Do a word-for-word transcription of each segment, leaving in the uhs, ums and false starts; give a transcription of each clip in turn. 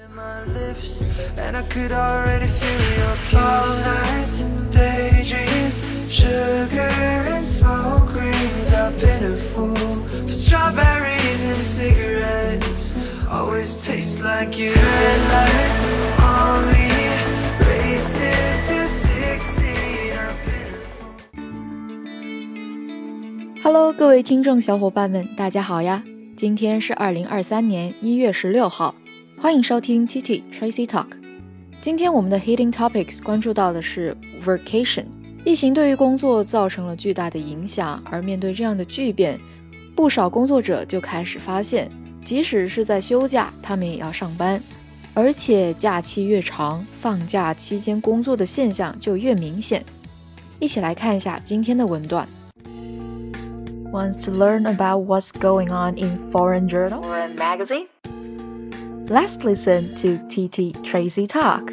My lips, and I could already feel your kiss. All nights and daydreams, sugar and smoke rings. I've been a fool for strawberries and cigarettes. Always taste like you. Headlights on me, racing through sixteen. I've been a fool. Hello， 各位听众小伙伴们，大家好呀！今天是二零二三年一月十六号。欢迎收听 T T Tracy Talk。 今天我们的 Hidden Topics 关注到的是 Vacation。 疫情对于工作造成了巨大的影响，而面对这样的巨变，不少工作者就开始发现，即使是在休假，他们也要上班，而且假期越长，放假期间工作的现象就越明显。一起来看一下今天的文段。 Wants to learn about what's going on in foreign journal or magazine?Let's listen to T T Tracy Talk.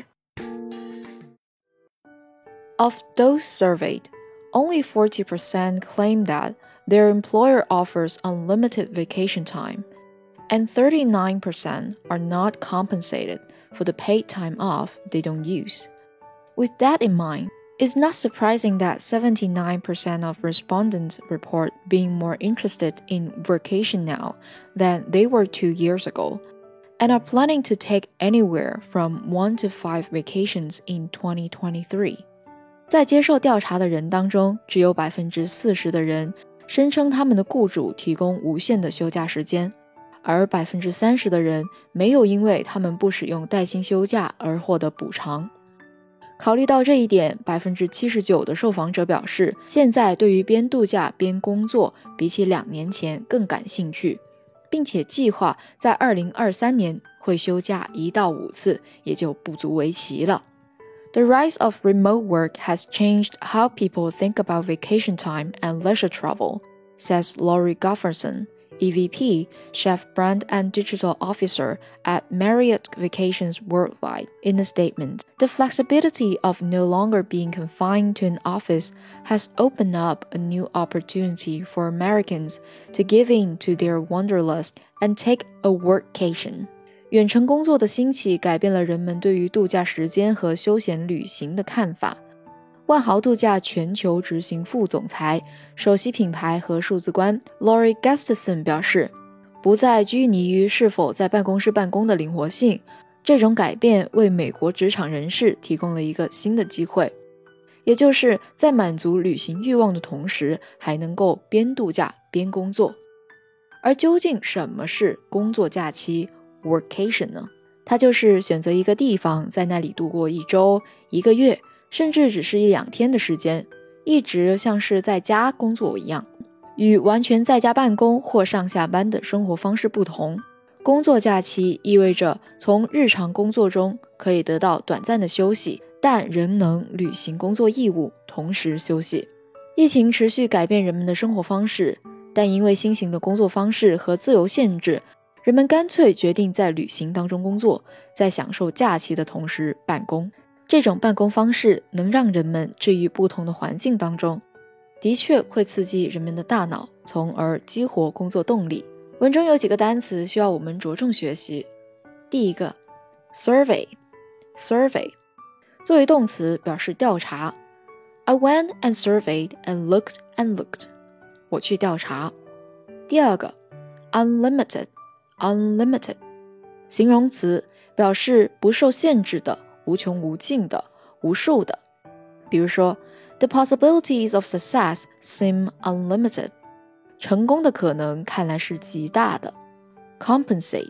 Of those surveyed, only forty percent claim that their employer offers unlimited vacation time, and thirty-nine percent are not compensated for the paid time off they don't use. With that in mind, it's not surprising that seventy-nine percent of respondents report being more interested in vacation now than they were two years ago.And are planning to take anywhere from one to five vacations in twenty twenty-three. 在接受调查的人当中，只有 百分之四十 的人声称他们的雇主提供无限的休假时间，而 百分之三十 的人没有因为他们不使用带薪休假而获得补偿。考虑到这一点， 百分之七十九 的受访者表示，现在对于边度假边工作比起两年前更感兴趣，并且计划在二零二三年会休假一到五次，也就不足为奇了。The rise of remote work has changed how people think about vacation time and leisure travel, says Laurie Gufferson, E V P, Chef Brand and Digital Officer at Marriott Vacations Worldwide, in a statement. The flexibility of no longer being confined to an office has opened up a new opportunity for Americans to give in to their wanderlust and take a workcation. 远程工作的兴起改变了人们对于度假时间和休闲旅行的看法。万豪度假全球执行副总裁、首席品牌和数字官 Laurie Gustafson 表示，不再拘泥于是否在办公室办公的灵活性，这种改变为美国职场人士提供了一个新的机会，也就是在满足旅行欲望的同时，还能够边度假边工作。而究竟什么是工作假期 Workation 呢？它就是选择一个地方，在那里度过一周、一个月，甚至只是一两天的时间，一直像是在家工作一样。与完全在家办公或上下班的生活方式不同，工作假期意味着从日常工作中可以得到短暂的休息，但仍能履行工作义务，同时休息。疫情持续改变人们的生活方式，但因为新型的工作方式和自由限制，人们干脆决定在旅行当中工作，在享受假期的同时办公。这种办公方式能让人们置于不同的环境当中，的确会刺激人们的大脑，从而激活工作动力。文中有几个单词需要我们着重学习。第一个 survey survey 作为动词表示调查。 I went and surveyed and looked and looked 我去调查。第二个 unlimited unlimited 形容词表示不受限制的，无穷无尽的，无数的。比如说 The possibilities of success seem unlimited 成功的可能看来是极大的。 Compensate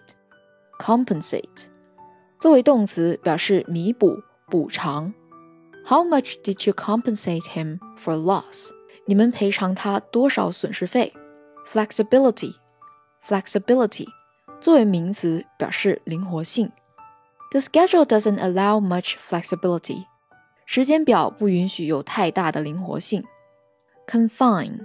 compensate 作为动词表示弥补补偿。 How much did you compensate him for loss 你们赔偿他多少损失费。 Flexibility flexibility 作为名词表示灵活性。The schedule doesn't allow much flexibility. 时间表不允许有太大的灵活性。Confine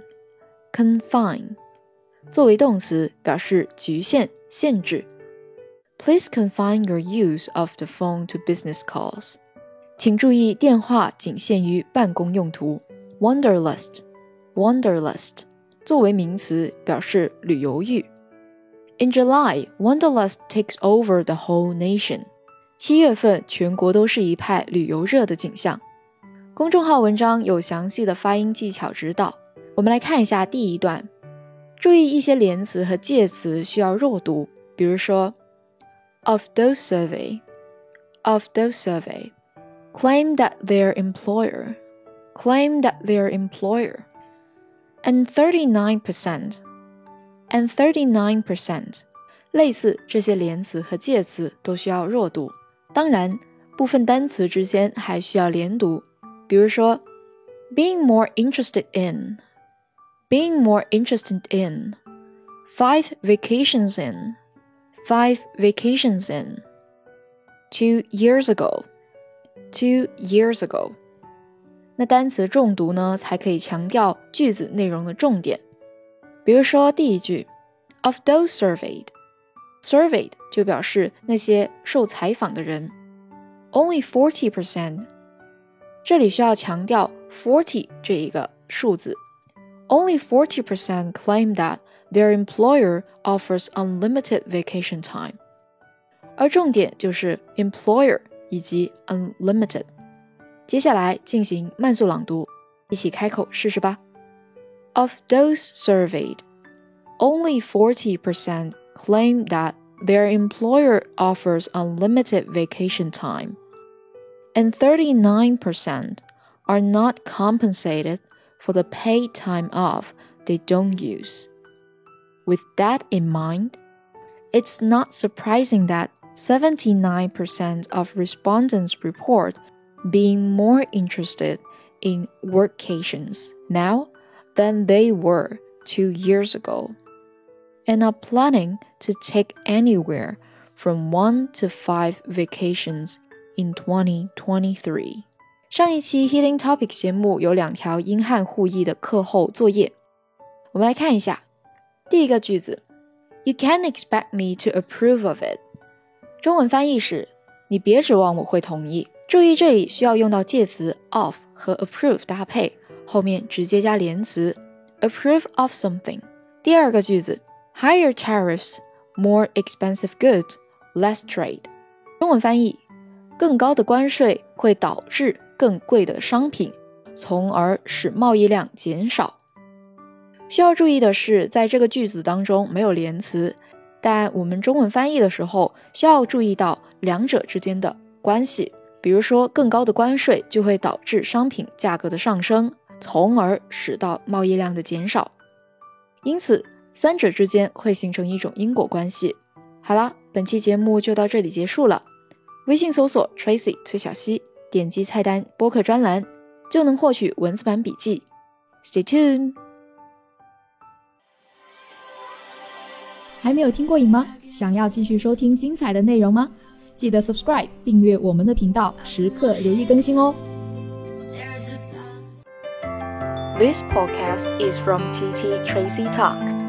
confine 作为动词表示局限限制。Please confine your use of the phone to business calls. 请注意电话仅限于办公用途。Wanderlust wanderlust 作为名词表示旅游欲。In July, Wanderlust takes over the whole nation. 七月份全国都是一派旅游热的景象。公众号文章有详细的发音技巧指导，我们来看一下第一段。注意一些连词和介词需要弱读，比如说 Of those survey Of those survey Claim that their employer Claim that their employer And thirty-nine percent And thirty-nine percent 类似这些连词和介词都需要弱读，当然部分单词之间还需要连读，比如说 Being more interested in Being more interested in Five vacations in Five vacations in Two years ago Two years ago 那单词重读呢，才可以强调句子内容的重点。比如说第一句 Of those surveyed Surveyed 就表示那些受采访的人。 Only forty percent 这里需要强调 forty 这一个数字。 Only forty percent claim that their employer offers unlimited vacation time 而重点就是 employer 以及 unlimited。 接下来进行慢速朗读，一起开口试试吧。 Of those surveyed Only forty percent claim that their employer offers unlimited vacation time, and thirty-nine percent are not compensated for the paid time off they don't use. With that in mind, it's not surprising that seventy-nine percent of respondents report being more interested in workations now than they were two years ago.And are planning to take anywhere from one to five vacations in twenty twenty-three. 上一期 Healing Topics 节目有两条英汉互译的课后作业，我们来看一下。第一个句子 You can't expect me to approve of it. 中文翻译是你别指望我会同意。注意这里需要用到介词 of 和 approve 搭配，后面直接加连词 approve of something。第二个句子Higher tariffs, more expensive goods, less trade. 中文翻译，更高的关税会导致更贵的商品，从而使贸易量减少。需要注意的是，在这个句子当中没有连词，但我们中文翻译的时候需要注意到两者之间的关系。比如说，更高的关税就会导致商品价格的上升，从而使到贸易量的减少。因此三者之间会形成一种因果关系。好了，本期节目就到这里结束了。微信搜索 Tracy 崔小溪，点击菜单播客专栏，就能获取文字版笔记。Stay tuned。 还没有听过瘾吗？想要继续收听精彩的内容吗？记得 subscribe 订阅我们的频道，时刻留意更新哦。 This podcast is from T T Tracy Talk.